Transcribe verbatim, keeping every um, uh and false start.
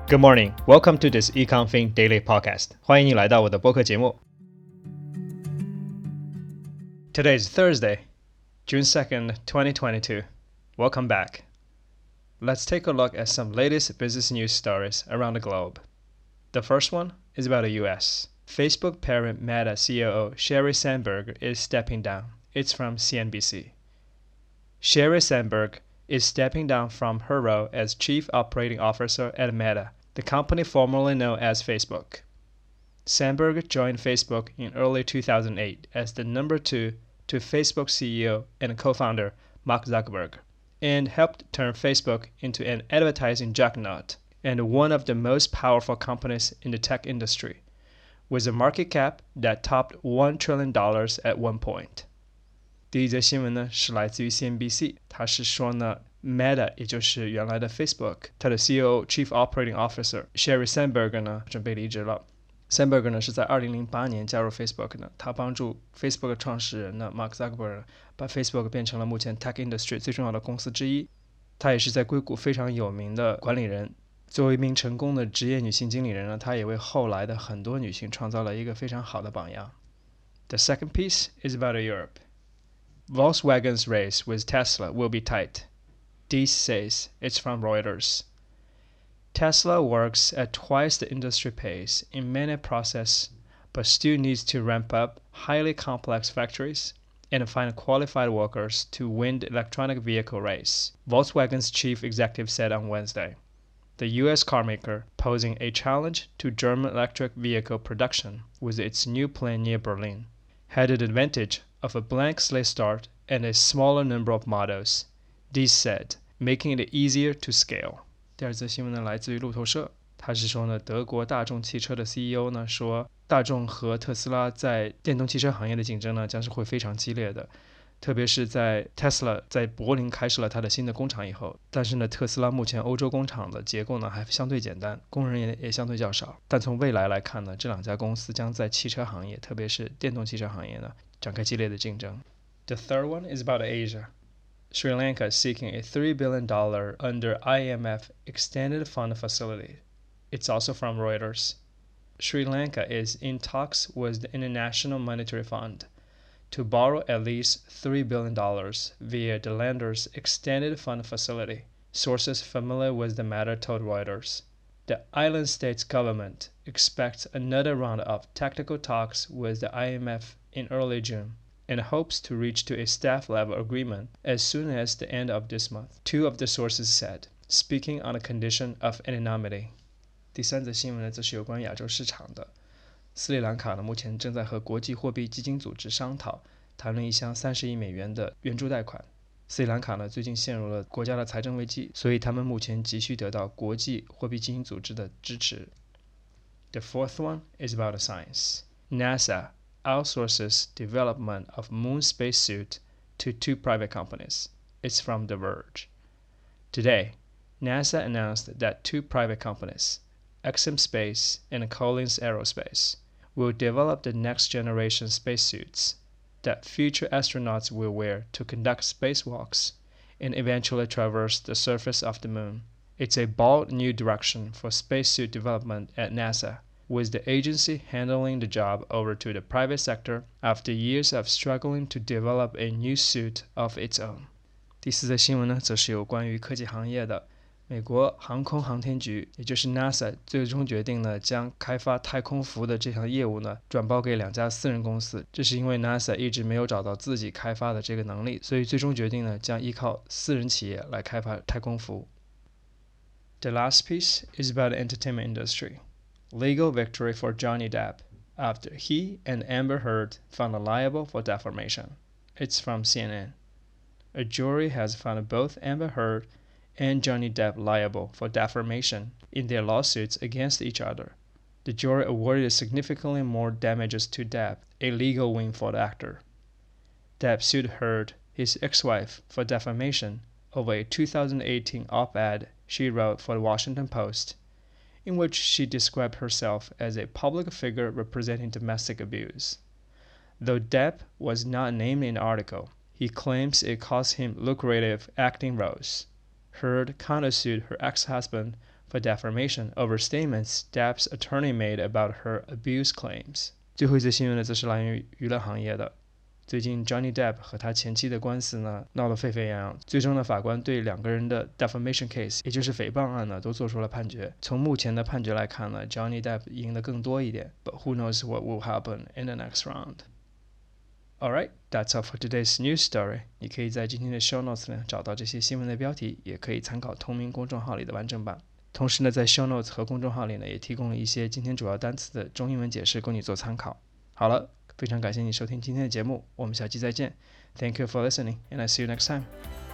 Good morning. Welcome to this EconFin Daily Podcast. 欢迎你来到我的播客节目。Today is Thursday, June second, twenty twenty-two. Welcome back. Let's take a look at some latest business news stories around the globe. The first one is about the U S. Facebook parent Meta C O O Sheryl Sandberg is stepping down. It's from C N B C. Sheryl Sandberg is stepping down from her role as Chief Operating Officer at Meta, the company formerly known as Facebook. Sandberg joined Facebook in early two thousand eight as the number two to Facebook C E O and co-founder Mark Zuckerberg, and helped turn Facebook into an advertising juggernaut and one of the most powerful companies in the tech industry, with a market cap that topped one trillion dollars at one point. 第一则新闻呢是来自于 C N B C， 它是说呢 Meta 也就是原来的 Facebook， 它的 C O O Chief Operating Officer Sheryl Sandberg 呢准备离职了。Sandberg 呢是在二零零八年加入 Facebook 呢，他帮助 Facebook 创始人呢 Mark Zuckerberg 把 Facebook 变成了目前 Tech Industry 最重要的公司之一。他也是在硅谷非常有名的管理人。作为一名成功的职业女性经理人呢，她也为后来的很多女性创造了一个非常好的榜样。The second piece is about Europe. Volkswagen's race with Tesla will be tight. Diess says it's from Reuters. Tesla works at twice the industry pace in many processes, but still needs to ramp up highly complex factories and find qualified workers to win the electronic vehicle race, Volkswagen's chief executive said on Wednesday. The U S carmaker, posing a challenge to German electric vehicle production with its new plant near Berlin, had the advantage of a blank slate start and a smaller number of models, Diess said, making it easier to scale. 第二则新闻呢来自于路透社，他是说呢，德国大众汽车的 C E O 呢说，大众和特斯拉在电动汽车行业的竞争呢将是会非常激烈的，特别是在 Tesla 在柏林开设了它的新的工厂以后。但是呢，特斯拉目前欧洲工厂的结构呢还相对简单，工人也也相对较少。但从未来来看呢，这两家公司将在汽车行业，特别是电动汽车行业呢展开激烈的竞争。The third one is about Asia. Sri Lanka is seeking a three billion dollars under I M F Extended Fund Facility. It's also from Reuters. Sri Lanka is in talks with the International Monetary Fund to borrow at least three billion dollars via the lender's Extended Fund Facility, sources familiar with the matter told Reuters. The island state's government expects another round of technical talks with the I M F in early June, and hopes to reach to a staff-level agreement as soon as the end of this month, two of the sources said, speaking on the condition of anonymity. 第三则新闻呢，则是有关亚洲市场的。斯里兰卡呢，目前正在和国际货币基金组织商讨，谈论一项三十亿美元的援助贷款。斯里兰卡呢，最近陷入了国家的财政危机，所以他们目前急需得到国际货币基金组织的支持。The fourth one is about science. NASA outsources development of moon spacesuit to two private companies. It's from The Verge. Today, NASA announced that two private companies, Exim Space and Collins Aerospace, will develop the next generation spacesuits that future astronauts will wear to conduct spacewalks and eventually traverse the surface of the moon. It's a bold new direction for spacesuit development at NASA, with the agency handing the job over to the private sector after years of struggling to develop a new suit of its own. 第四则新闻呢，则是有关于科技行业的。美国航空航天局，也就是 NASA， 最终决定呢，将开发太空服的这项业务呢，转包给两家私人公司。这是因为 NASA 一直没有找到自己开发的这个能力，所以最终决定呢，将依靠私人企业来开发太空服。The last piece is about the entertainment industry. Legal victory for Johnny Depp after he and Amber Heard found liable for defamation. It's from C N N. A jury has found both Amber Heard and Johnny Depp liable for defamation in their lawsuits against each other. The jury awarded significantly more damages to Depp, a legal win for the actor. Depp sued Heard, his ex-wife, for defamation over a two thousand eighteen op-ed she wrote for the Washington Post, in which she described herself as a public figure representing domestic abuse. Though Depp was not named in the article, he claims it cost him lucrative acting roles. Heard countersued her ex-husband for for defamation over statements Depp's attorney made about her abuse claims。最后一则新闻呢，则是来源于娱乐行业的。最近 Johnny Depp 和他前妻的官司呢闹得沸沸扬扬，最终呢法官对两个人的 defamation case 也就是诽谤案呢都做出了判决。从目前的判决来看呢 Johnny Depp 赢得更多一点， but who knows what will happen in the next round。 Alright, that's all for today's news story。 你可以在今天的 show notes 呢找到这些新闻的标题，也可以参考同名公众号里的完整版。同时呢在 show notes 和公众号里呢也提供了一些今天主要单词的中英文解释供你做参考。好了，非常感谢你收听今天的节目，我们下期再见。 Thank you for listening and I see you next time.